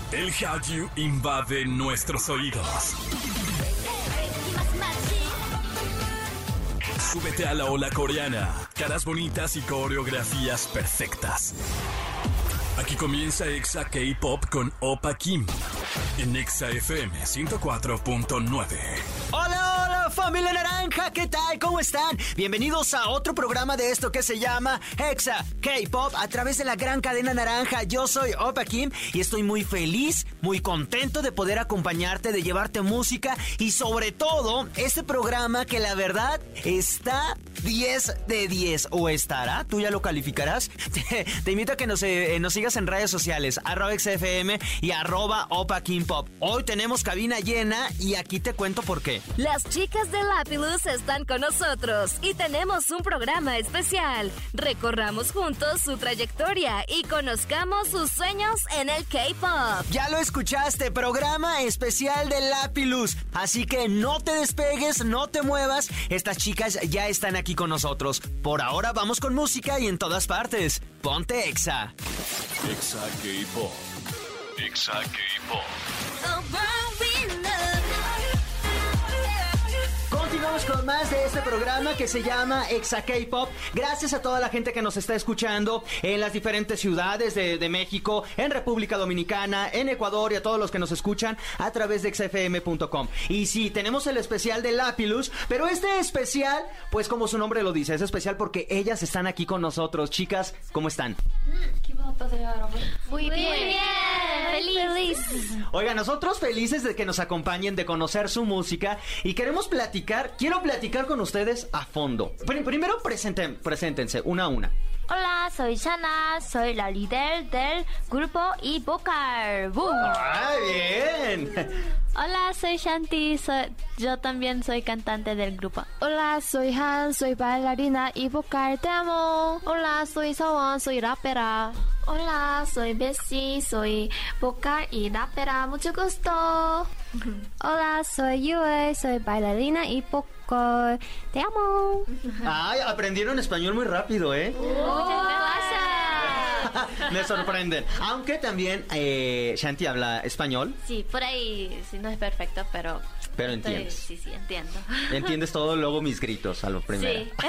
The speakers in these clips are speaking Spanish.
El Hallyu invade nuestros oídos. Súbete a la ola coreana. Caras bonitas y coreografías perfectas. Aquí comienza Exa K-Pop con Oppa Kim en Exa FM 104.9. Hola, hola familia naranja, ¿qué tal? ¿Cómo están? Bienvenidos a otro programa de esto que se llama Exa K-Pop a través de la gran cadena naranja. Yo soy Oppa Kim y estoy muy feliz, muy contento de poder acompañarte, de llevarte música y sobre todo este programa que la verdad está 10 de 10 o estará, tú ya lo calificarás. Te invito a que nos sigas en redes sociales, @XFM y @OppaKimPop. Hoy tenemos cabina llena y aquí te cuento por qué. Las chicas de Lapilus están con nosotros y tenemos un programa especial. Recorramos juntos su trayectoria y conozcamos sus sueños en el K-Pop. Ya lo escuchaste, programa especial de Lapilus. Así que no te despegues, no te muevas. Estas chicas ya están aquí con nosotros. Por ahora vamos con música y en todas partes. Ponte Exa. Exa K-Pop. Exa K-Pop. Continuamos con más de este programa que se llama Exa K-Pop. Gracias a toda la gente que nos está escuchando en las diferentes ciudades de México, en República Dominicana, en Ecuador y a todos los que nos escuchan a través de xfm.com. Y sí, tenemos el especial de Lapilus, pero este especial, pues como su nombre lo dice, es especial porque ellas están aquí con nosotros. Chicas, ¿cómo están? Muy bien. Feliz. Oiga, nosotros felices de que nos acompañen, de conocer su música y queremos quiero platicar con ustedes a fondo. Primero preséntense una a una. Hola, soy Shana, soy la líder del grupo y vocal. ¡Boom! ¡Ah, bien! Hola, soy Shanti, yo también soy cantante del grupo. Hola, soy Han, soy bailarina y vocal, te amo. Hola, soy Sawon, soy rapera. Hola, soy Bessie, soy vocal y rapera, mucho gusto. Hola, soy Yue, soy bailarina y vocal, te amo. Ay, aprendieron español muy rápido, ¿eh? Muchas gracias. Me sorprenden. Aunque también Shanti habla español. Sí, por ahí sí no es perfecto, pero entiendes. Sí, entiendo. Entiendes todo, luego mis gritos a lo primero. Sí.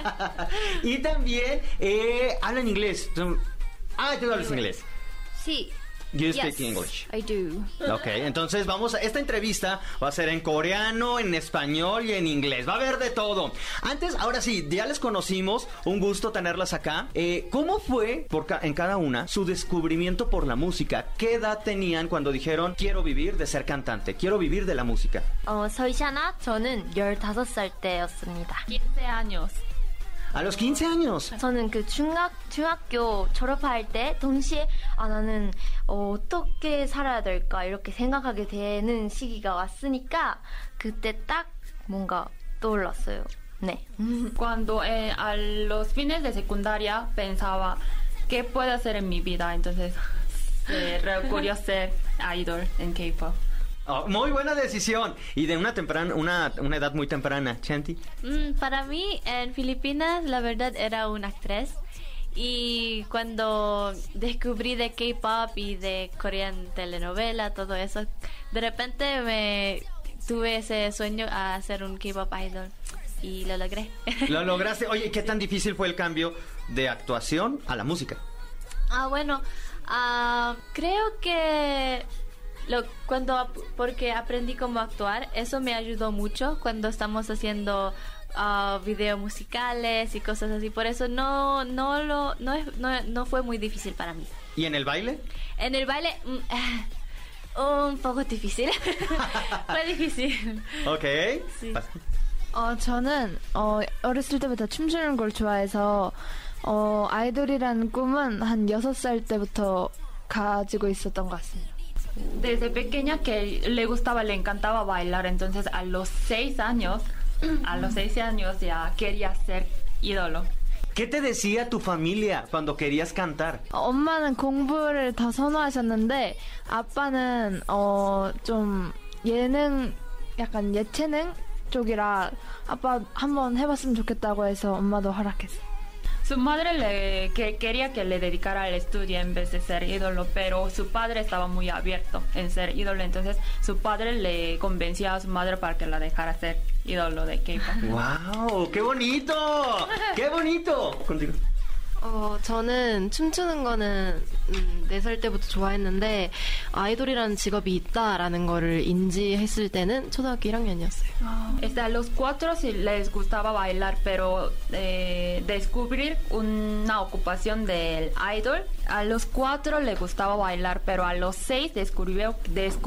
Y también hablan inglés. Tú hablas inglés. Sí. You speak English. I do. Ok, entonces esta entrevista va a ser en coreano, en español y en inglés. Va a haber de todo. Ahora sí, ya les conocimos. Un gusto tenerlas acá. ¿Cómo fue en cada una su descubrimiento por la música? ¿Qué edad tenían cuando dijeron quiero vivir de ser cantante? Quiero vivir de la música. soy Shana, 저는 15살 때였습니다. 15 años. A los 15 años. 저는 중학교 졸업할 때 동시에 나는 어떻게 살아야 될까 이렇게 생각하게 되는 시기가 왔으니까 그때 딱 뭔가 떠올랐어요. 네. Cuando a los fines de secundaria pensaba qué puedo hacer en mi vida, entonces recurrió a ser idol en K-pop. Oh, muy buena decisión. Y de una edad muy temprana, Shanti. Para mí, en Filipinas, la verdad era una actriz. Y cuando descubrí de K-pop y de Korean telenovela, todo eso, de repente tuve ese sueño a ser un K-pop idol. Y lo logré. Lo lograste. Oye, ¿qué tan difícil fue el cambio de actuación a la música? Bueno, creo que... porque aprendí cómo actuar, eso me ayudó mucho cuando estamos haciendo videos musicales y cosas así. Por eso no fue muy difícil para mí. ¿Y en el baile? En el baile, un poco difícil. Fue difícil. Ok. Sí. 저는 어렸을 때부터 춤추는 걸 좋아해서 아이돌이라는 꿈은 한 6살 때부터 가지고 있었던 것 같습니다. Desde pequeña que le encantaba bailar, entonces a los 6 años ya quería ser ídolo. ¿Qué te decía tu familia cuando querías cantar? 엄마는 공부를 더 선호하셨는데 아빠는 좀 약간 예체능 쪽이라 아빠 한번 해봤으면 좋겠다고 해서 엄마도 허락했어요. Su madre quería que le dedicara al estudio en vez de ser ídolo, pero su padre estaba muy abierto en ser ídolo, entonces su padre le convenció a su madre para que la dejara ser ídolo de K-pop. ¡Wow! ¡Qué bonito! ¡Qué bonito! Contigo. 저는 춤추는 거는 4살 때부터 좋아했는데 아이돌이라는 직업이 있다라는 거를 인지했을 때는 초등학교 1학년이었어요. A los 4 sí les gustaba bailar, pero descubrir una ocupación del idol, a los 4 le gustaba bailar, pero a los 6 descubrió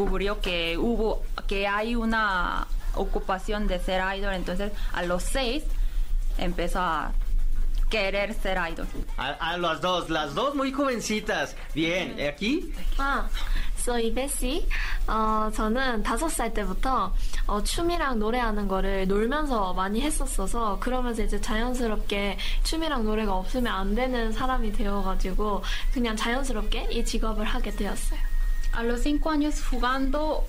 que hay una ocupación de ser idol, entonces a los 6 empezó a querer ser idol. A las dos muy jovencitas. Bien, ¿aquí? soy Bessie. 저는 5살 때부터 춤이랑 노래하는 거를 놀면서 많이 했었어서 그러면서 이제 자연스럽게 춤이랑 노래가 없으면 안 되는 사람이 되어가지고 그냥 자연스럽게 이 직업을 하게 되었어요. A los 5 años jugando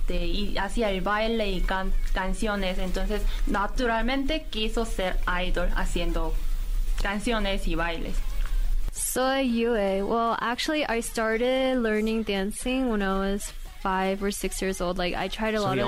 y hacía el baile y canciones, entonces naturalmente quiso ser idol haciendo canciones y bailes. Soy Yue. Well, actually, I started learning dancing when I was 5 or 6 years old. Like, I tried a lot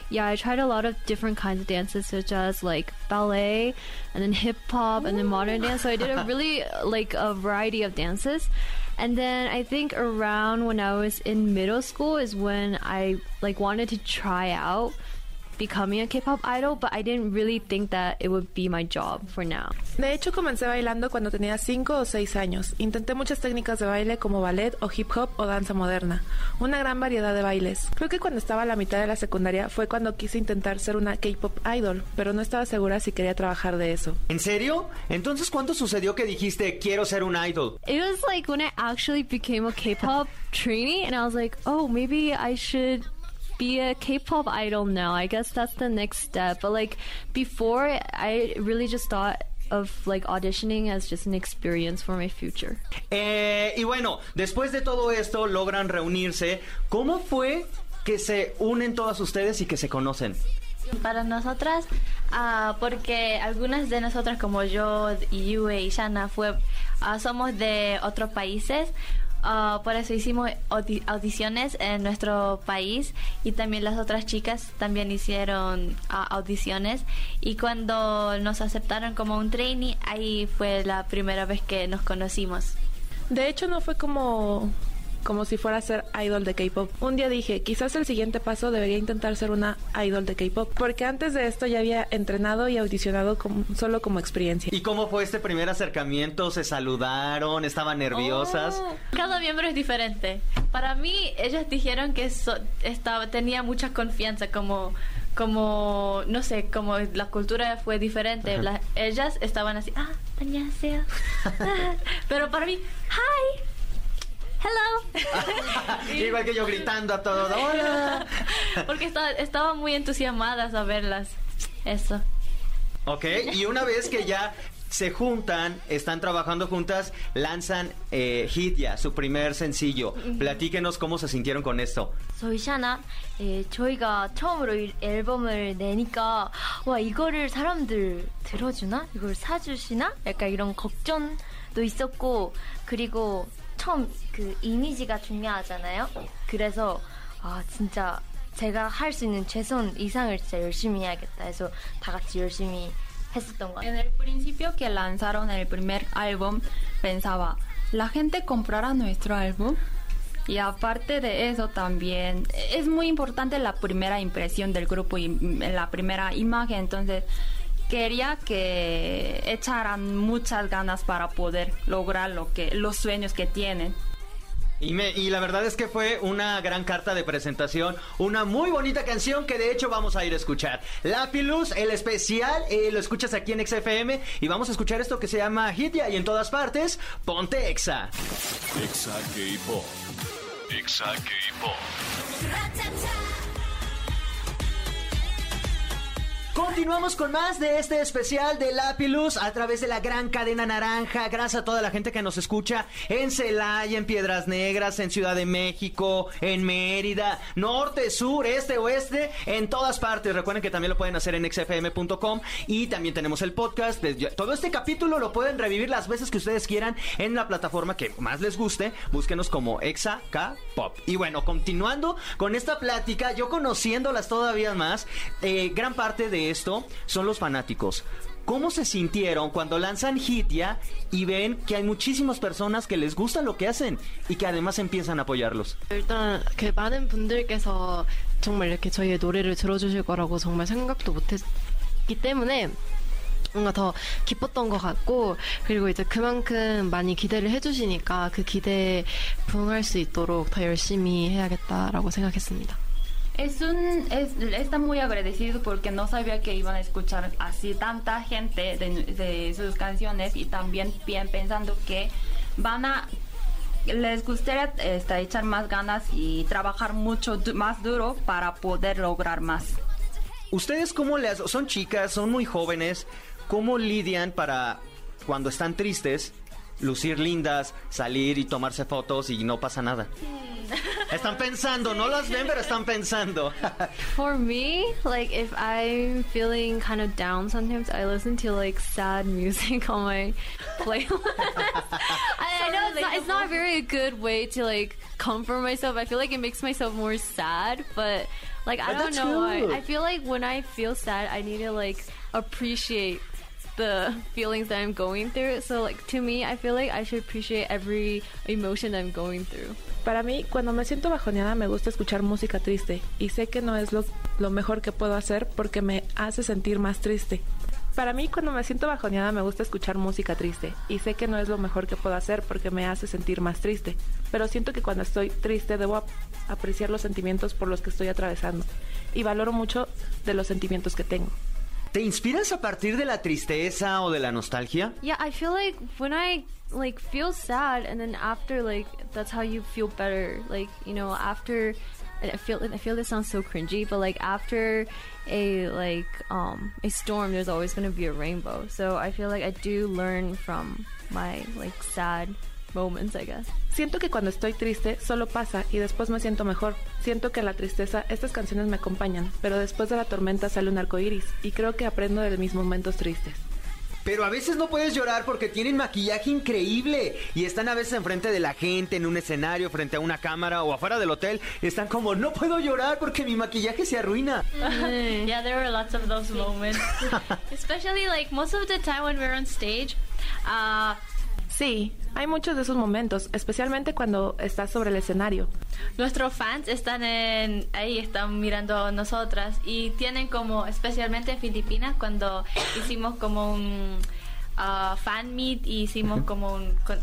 of different kinds of dances, such as like ballet, and then hip hop, and then modern dance. So I did a really a variety of dances. And then I think around when I was in middle school is when I wanted to try out becoming a K-pop idol, but I didn't really think that it would be my job for now. De hecho, comencé bailando cuando tenía 5 o 6 años. Intenté muchas técnicas de baile como ballet o hip hop o danza moderna. Una gran variedad de bailes. Creo que cuando estaba a la mitad de la secundaria fue cuando quise intentar ser una K-pop idol, pero no estaba segura si quería trabajar de eso. ¿En serio? Entonces, ¿cuándo sucedió que dijiste quiero ser un idol? It was like when I actually became a K-pop trainee, and I was like, oh, maybe I should be a K-pop idol now. I guess that's the next step. But before, I really just thought of auditioning as just an experience for my future. Y bueno, después de todo esto logran reunirse. ¿Cómo fue que se unen todas ustedes y que se conocen? Para nosotras, porque algunas de nosotras como yo, Yue y Shana somos de otros países. Por eso hicimos audiciones en nuestro país y también las otras chicas también hicieron audiciones, y cuando nos aceptaron como un trainee, ahí fue la primera vez que nos conocimos. De hecho, no fue como si fuera a ser idol de K-pop. Un día dije, quizás el siguiente paso debería intentar ser una idol de K-pop, porque antes de esto ya había entrenado y audicionado solo como experiencia. ¿Y cómo fue este primer acercamiento? ¿Se saludaron? ¿Estaban nerviosas? Cada miembro es diferente. Para mí, ellas dijeron que tenía mucha confianza, como no sé, como la cultura fue diferente. Ellas estaban así, 안녕하세요. Pero para mí, hi. Hello. Igual que yo gritando a todo. Hola. Porque estaban muy entusiasmadas a verlas. Eso. Ok, y una vez que ya se juntan, están trabajando juntas, lanzan Hidya, su primer sencillo. Platíquenos cómo se sintieron con esto. Soy Shana. 저희가 처음으로 앨범을 내니까 와, 이거를 사람들 들어주나? 이걸 사주시나? 약간 이런 걱정도 있었고, 그리고 처음 그 이미지가 중요하잖아요. 그래서 진짜 제가 할 수 있는 최선 이상을 진짜 열심히 해야겠다 해서 다 같이 열심히 했었던 것 같아요. En el principio que lanzaron el primer álbum, pensaba, ¿la gente comprará nuestro álbum? Y aparte de eso también es muy importante la primera impresión del grupo y la primera imagen, entonces quería que echaran muchas ganas para poder lograr los sueños que tienen. Y la verdad es que fue una gran carta de presentación, una muy bonita canción que de hecho vamos a ir a escuchar. Lapilus, el especial, lo escuchas aquí en XFM y vamos a escuchar esto que se llama Hidya, y en todas partes, ponte Exa. Exa K-Pop. Exa K-Pop. Continuamos con más de este especial de Lapilus a través de la gran cadena naranja. Gracias a toda la gente que nos escucha en Celaya, en Piedras Negras, en Ciudad de México, en Mérida, norte, sur, este, oeste, en todas partes. Recuerden que también lo pueden hacer en xfm.com y también tenemos el podcast. Todo este capítulo lo pueden revivir las veces que ustedes quieran en la plataforma que más les guste. Búsquenos como Exa K-Pop. Y bueno, continuando con esta plática, yo conociéndolas todavía más, gran parte de esto son los fanáticos. ¿Cómo se sintieron cuando lanzan Hitya y ven que hay muchísimas personas que les gusta lo que hacen y que además empiezan a apoyarlos? 일단 그 많은 분들께서 정말 이렇게 저희의 노래를 들어주실 거라고 정말 생각도 못했기 때문에 뭔가 더 기뻤던 것 같고, 그리고 이제 그만큼 많이 기대를 해주시니까 그 기대에 부응할 수 있도록 더 열심히 해야겠다라고 생각했습니다. Está muy agradecido porque no sabía que iban a escuchar así tanta gente de sus canciones, y también bien pensando que les gustaría echar más ganas y trabajar mucho más duro para poder lograr más. ¿Ustedes cómo son chicas, son muy jóvenes, cómo lidian para cuando están tristes, lucir lindas, salir y tomarse fotos y no pasa nada? Están pensando, no las ven, pero están pensando. For me, like if I'm feeling kind of down sometimes, I listen to like sad music on my playlist. I know it's not a very good way to like comfort myself. I feel like it makes myself more sad, but like I don't know why. I feel like when I feel sad, I need to like appreciate the feelings that I'm going through. So like to me, I feel like I should appreciate every emotion that I'm going through. Para mí, cuando me siento bajoneada, me gusta escuchar música triste y sé que no es lo mejor que puedo hacer porque me hace sentir más triste. Para mí, cuando me siento bajoneada, me gusta escuchar música triste y sé que no es lo mejor que puedo hacer porque me hace sentir más triste. Pero siento que cuando estoy triste debo apreciar los sentimientos por los que estoy atravesando y valoro mucho de los sentimientos que tengo. ¿Te inspiras a partir de la tristeza o de la nostalgia? Yeah, I feel like when I like feel sad and then after like that's how you feel better. Like, you know, after I feel this sounds so cringy, but like after a storm there's always going to be a rainbow. So I feel like I do learn from my like sad moments, I guess. Siento que cuando estoy triste solo pasa y después me siento mejor. Siento que en la tristeza estas canciones me acompañan, pero después de la tormenta sale un arco iris y creo que aprendo de mis momentos tristes. Pero a veces no puedes llorar porque tienen maquillaje increíble y están a veces enfrente de la gente, en un escenario, frente a una cámara o afuera del hotel. Están como, no puedo llorar porque mi maquillaje se arruina. Yeah, there were lots of those moments. Especially like most of the time when we're on stage. Sí, hay muchos de esos momentos, especialmente cuando estás sobre el escenario. Nuestros fans están ahí, están mirando a nosotras y tienen como, especialmente en Filipinas, cuando hicimos como un fan meet y hicimos como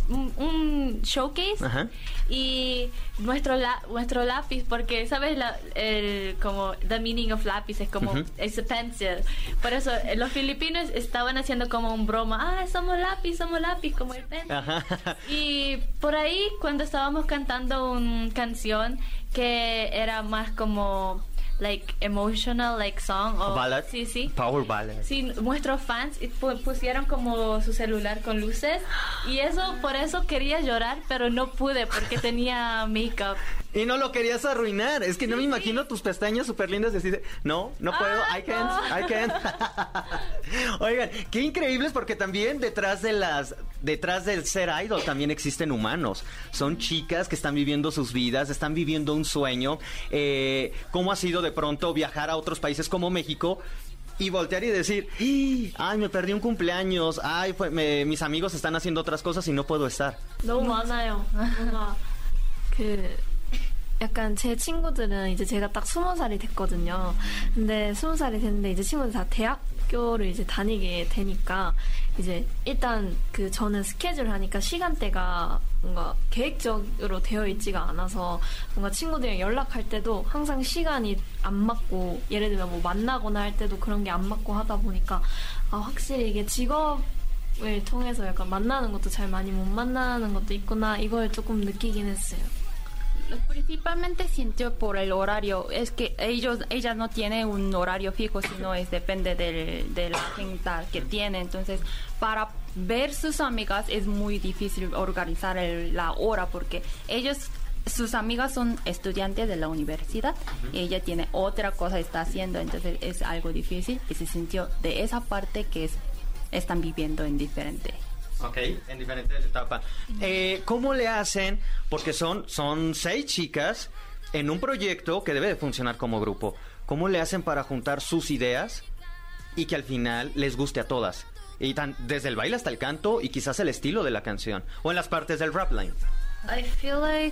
un showcase. Uh-huh. Y nuestro lápiz, porque sabes como the meaning of lápiz es como it's a pencil, por eso los filipinos estaban haciendo como un broma, somos lápiz como el pencil. Uh-huh. Y por ahí cuando estábamos cantando una canción que era más como like emotional like song o ballad. Sí. Power ballad. Sí, nuestros fans pusieron como su celular con luces y por eso quería llorar, pero no pude porque tenía make-up. Y no lo querías arruinar. Es que no me imagino tus pestañas súper lindas decir, no puedo, I can't. Oigan, qué increíbles porque también detrás del ser idol también existen humanos. Son chicas que están viviendo sus vidas, están viviendo un sueño. ¿Cómo ha sido de pronto viajar a otros países como México y voltear y decir, ay, me perdí un cumpleaños, ay, mis amigos están haciendo otras cosas y no puedo estar? 너무 많아요. 약간 제 친구들은 이제 제가 딱 20살이 됐거든요. 근데 20살이 됐는데 이제 친구들 다 대학교를 이제 다니게 되니까 이제 일단 저는 스케줄 하니까 시간대가 뭔가 계획적으로 되어 있지가 않아서 뭔가 친구들이랑 연락할 때도 항상 시간이 안 맞고 예를 들면 뭐 만나거나 할 때도 그런 게 안 맞고 하다 보니까 확실히 이게 직업을 통해서 약간 만나는 것도 잘 많이 못 만나는 것도 있구나 이걸 조금 느끼긴 했어요. Principalmente siento por el horario. Es que ellas no tienen un horario fijo, sino depende de la agenda que tiene. Entonces, para ver sus amigas es muy difícil organizar la hora porque sus amigas son estudiantes de la universidad y ella tiene otra cosa está haciendo, entonces es algo difícil y se sintió de esa parte que están viviendo en diferente. Ok, en diferentes etapas. ¿Cómo le hacen? Porque son 6 chicas en un proyecto que debe de funcionar como grupo. ¿Cómo le hacen para juntar sus ideas y que al final les guste a todas? Y desde el baile hasta el canto y quizás el estilo de la canción. O en las partes del rap line. I feel like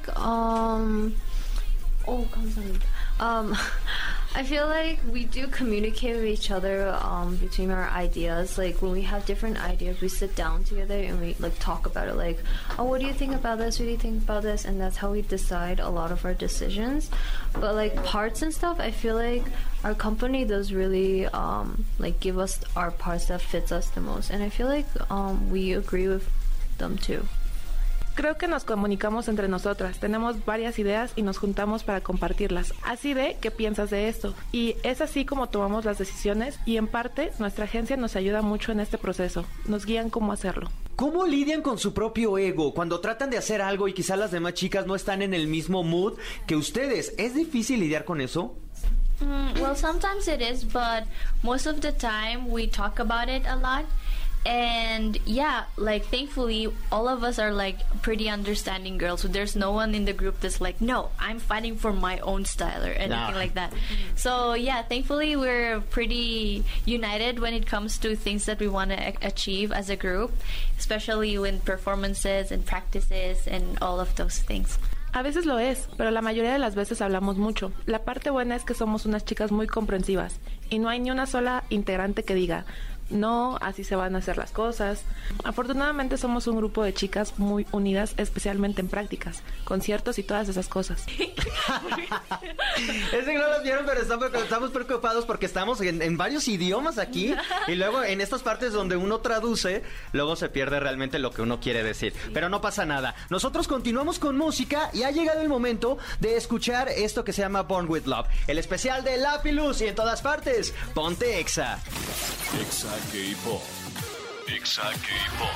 I feel like we do communicate with each other between our ideas. Like when we have different ideas, we sit down together and we like talk about it. Like, oh, what do you think about this? What do you think about this? And that's how we decide a lot of our decisions. But like parts and stuff, I feel like our company does really like give us our parts that fits us the most. And I feel like we agree with them too. Creo que nos comunicamos entre nosotras, tenemos varias ideas y nos juntamos para compartirlas. Así de, ¿qué piensas de esto? Y es así como tomamos las decisiones y en parte nuestra agencia nos ayuda mucho en este proceso, nos guían cómo hacerlo. ¿Cómo lidian con su propio ego cuando tratan de hacer algo y quizás las demás chicas no están en el mismo mood que ustedes? ¿Es difícil lidiar con eso? Well, sometimes it is, but most of the time we talk about it a lot. And yeah, like thankfully all of us are like pretty understanding girls, so there's no one in the group that's like, no, I'm fighting for my own style or anything like that. So yeah, thankfully we're pretty united when it comes to things that we want to achieve as a group, especially in performances and practices and all of those things. A veces lo es, pero la mayoría de las veces hablamos mucho. La parte buena es que somos unas chicas muy comprensivas y no hay ni una sola integrante que diga, no, así se van a hacer las cosas. Afortunadamente somos un grupo de chicas muy unidas, especialmente en prácticas, conciertos y todas esas cosas. Es que no los vieron, pero estamos preocupados porque estamos en varios idiomas aquí y luego en estas partes donde uno traduce, luego se pierde realmente lo que uno quiere decir. Pero no pasa nada. Nosotros continuamos con música y ha llegado el momento de escuchar esto que se llama Born With Love, el especial de Lapilus y en todas partes. Ponte Exa. Exa K-Pop. Exa K-Pop.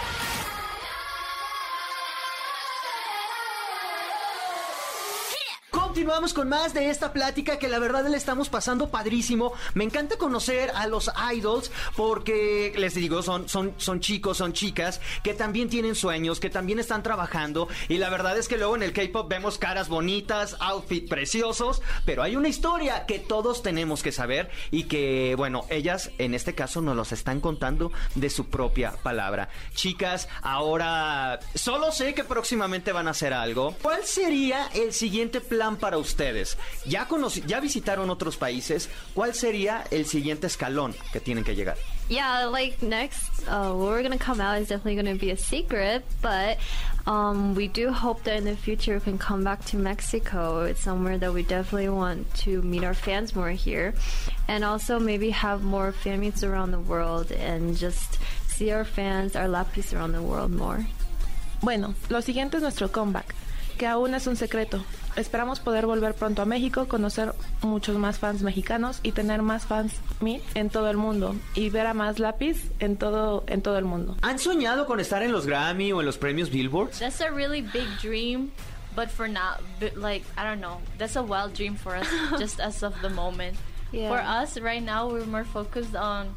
Continuamos con más de esta plática que la verdad le estamos pasando padrísimo. Me encanta conocer a los idols porque, les digo, son chicos, son chicas que también tienen sueños, que también están trabajando y la verdad es que luego en el K-pop vemos caras bonitas, outfits preciosos, pero hay una historia que todos tenemos que saber y que, bueno, ellas en este caso nos los están contando de su propia palabra. Chicas, ahora solo sé que próximamente van a hacer algo. ¿Cuál sería el siguiente plan para ustedes? ¿Ya visitaron otros países? ¿Cuál sería el siguiente escalón que tienen que llegar? Yeah, like next, where we're gonna come out is definitely gonna be a secret, but we do hope that in the future we can come back to Mexico. It's somewhere that we definitely want to meet our fans more here, and also maybe have more fan meets around the world and just see our fans, our Lapis around the world more. Bueno, lo siguiente es nuestro comeback, que aún es un secreto. Esperamos poder volver pronto a México, conocer muchos más fans mexicanos y tener más fans meet en todo el mundo y ver a más Lapis en todo el mundo. ¿Han soñado con estar en los Grammy o en los premios Billboard? That's a really big dream, but for now, like, I don't know, that's a wild dream for us, just as of the moment. Yeah. For us, right now, we're more focused on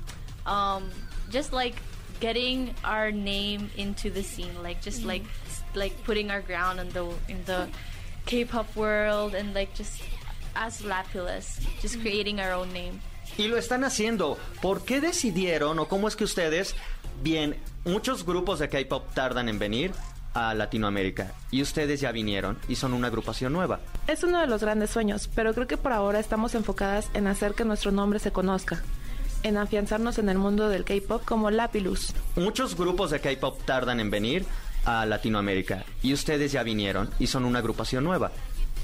just like getting our name into the scene, like just like putting our ground in the K-pop world and like just as Lapilus, just creating our own name. Y lo están haciendo. ¿Por qué decidieron o cómo es que ustedes, bien, muchos grupos de K-pop tardan en venir a Latinoamérica y ustedes ya vinieron y son una agrupación nueva? Es uno de los grandes sueños, pero creo que por ahora estamos enfocadas en hacer que nuestro nombre se conozca, en afianzarnos en el mundo del K-pop como Lapilus. Muchos grupos de K-pop tardan en venir a Latinoamérica y ustedes ya vinieron y son una agrupación nueva.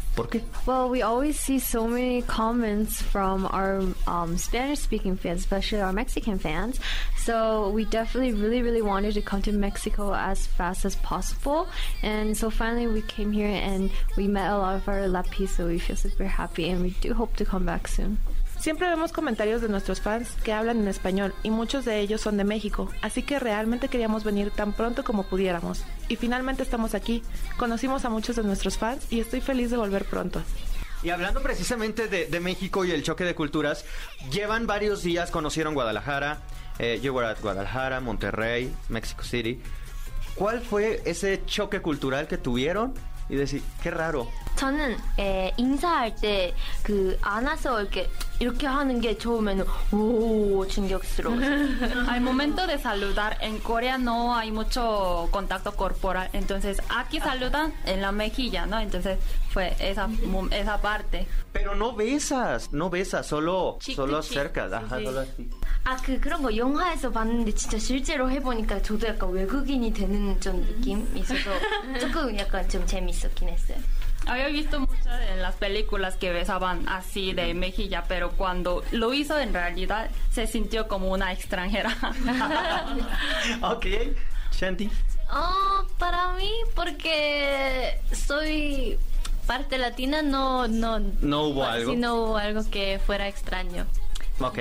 ¿Por qué? Well, we always see so many comments from our Spanish-speaking fans, especially our Mexican fans. So we definitely really wanted to come to Mexico as fast as possible. And so finally we came here and we met a lot of our Lapis, so we feel super happy and we do hope to come back soon. Siempre vemos comentarios de nuestros fans que hablan en español y muchos de ellos son de México, así que realmente queríamos venir tan pronto como pudiéramos. Y finalmente estamos aquí, conocimos a muchos de nuestros fans y estoy feliz de volver pronto. Y hablando precisamente de México y el choque de culturas, llevan varios días, conocieron Guadalajara, you were at Guadalajara, Monterrey, Mexico City. ¿Cuál fue ese choque cultural que tuvieron? Y decir, qué raro. 저는 인사할 때 그 안아서 이렇게 하는 게 처음에는 오 충격스러웠어요. Al momento de saludar en Corea no hay mucho contacto corporal, entonces aquí saludan en la mejilla, ¿no? Entonces fue esa parte. Pero no besas, solo acercas. Ajá, sí. solo así. 그런 거 영화에서 봤는데 진짜 실제로 해보니까 저도 약간 외국인이 되는 좀 느낌이 있어서 조금 약간 좀 재밌었긴 했어요. Había visto muchas en las películas que besaban así de mejilla, pero cuando lo hizo en realidad se sintió como una extranjera. Ok, Shanti. Para mí, porque soy parte latina, no hubo algo. Sí, no hubo algo que fuera extraño. Ok.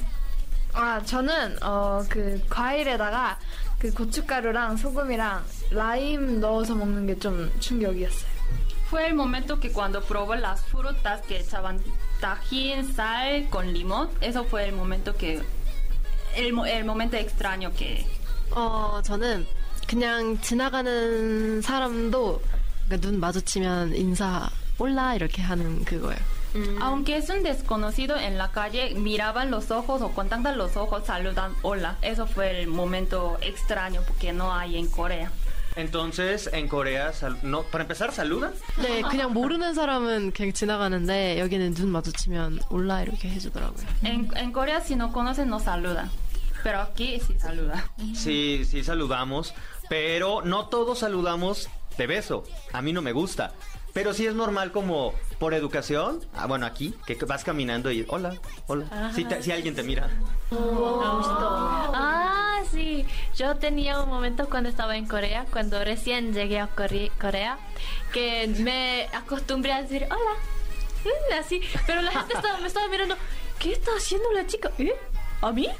저는 그 과일에다가 그 고춧가루랑 소금이랑 라임 넣어서 먹는 게 좀 충격이었어요. Fue el momento que cuando probó las frutas que echaban tajín, sal con limón, eso fue el momento que el momento extraño que 저는 그냥 지나가는 사람도 눈 마주치면 인사 올라 이렇게 하는 그거예요. Aunque es un desconocido en la calle, miraban los ojos o contactan los ojos, saludan hola. Eso fue el momento extraño porque no hay en Corea. Entonces, en Corea, no, para empezar, ¿saludan? 네, 그냥 모르는 사람은 그냥 지나가는데 여기는 눈 마주치면 올라 이렇게 해주더라고요. En Corea, si no conocen, no saludan. Pero aquí sí saludan. Sí saludamos, pero no todos saludamos de beso. A mí no me gusta. Pero sí es normal como por educación, bueno, aquí, que vas caminando y hola. Si alguien te mira. Sí. Yo tenía un momento cuando estaba en Corea, cuando recién llegué a Corea, que me acostumbré a decir hola. Así, pero la gente me estaba mirando. ¿Qué está haciendo la chica? ¿A mí?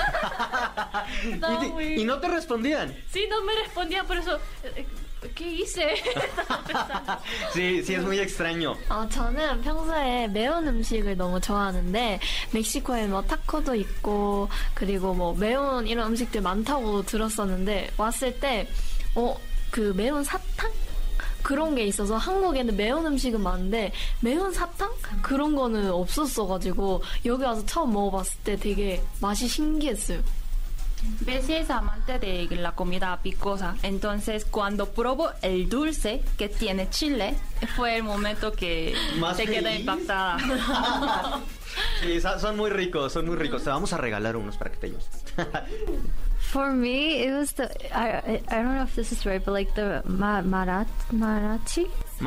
¿Y no te respondían? Sí, no me respondían, por eso... ¿qué hice? sí, es muy extraño. 저는 평소에 매운 음식을 너무 좋아하는데 멕시코에 뭐 타코도 있고 그리고 뭐 매운 이런 음식들 많다고 들었었는데 왔을 때 그 매운 사탕? 그런 게 있어서 한국에는 매운 음식은 많은데 매운 sa탕? 그런 거는 없었어가지고 여기 와서 처음 먹어봤을 때 되게 맛이 신기했어요. Bessie es amante de la comida picosa, entonces cuando probó el dulce que tiene chile, fue el momento que se quedó impactada. Sí, son muy ricos. Te vamos a regalar unos para que te lleves. For me, it was I don't know if this is right, but like the mariachi.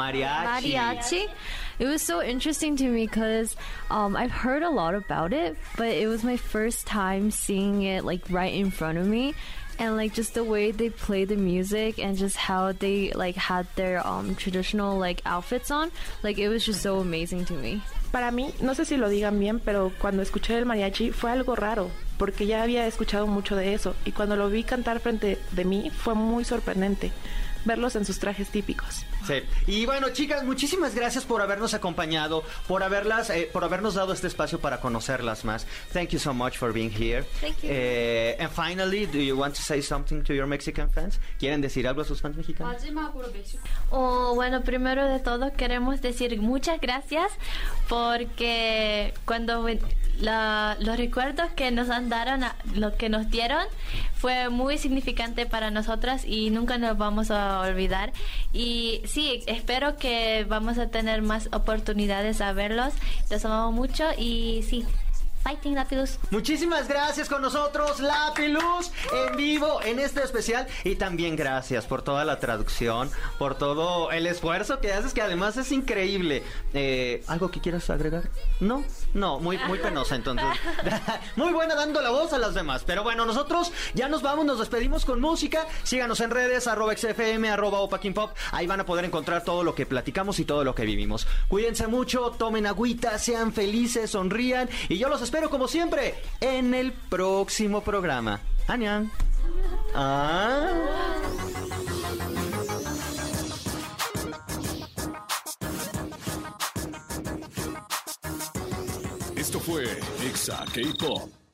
It was so interesting to me because I've heard a lot about it, but it was my first time seeing it like right in front of me. And like just the way they play the music and just how they like had their traditional like outfits on, like it was just so amazing to me. Para mí, no sé si lo digan bien, pero cuando escuché el mariachi fue algo raro, porque ya había escuchado mucho de eso, y cuando lo vi cantar frente de mí fue muy sorprendente verlos en sus trajes típicos. Sí. Y bueno, chicas, muchísimas gracias por habernos acompañado, por habernos dado este espacio para conocerlas más. Thank you so much for being here. Thank you. And finally, do you want to say something to your Mexican fans? ¿Quieren decir algo a sus fans mexicanos? Bueno, primero de todo queremos decir muchas gracias porque cuando los recuerdos que nos lo que nos dieron fue muy significante para nosotras y nunca nos vamos a olvidar. Y sí, espero que vamos a tener más oportunidades a verlos. Los amamos mucho y sí, Fighting Lapilus. Muchísimas gracias con nosotros, Lapilus, en vivo en este especial. Y también gracias por toda la traducción, por todo el esfuerzo que haces, que además es increíble. ¿Algo que quieras agregar? No, muy penosa entonces. Muy buena dando la voz a las demás. Pero bueno, nosotros ya nos vamos, nos despedimos con música. Síganos en redes, @XFM, @OpaKimPop. Ahí van a poder encontrar todo lo que platicamos y todo lo que vivimos. Cuídense mucho, tomen agüita, sean felices, sonrían. Y yo los espero como siempre en el próximo programa. ¡Annyeong! Esto fue Exa K-Pop.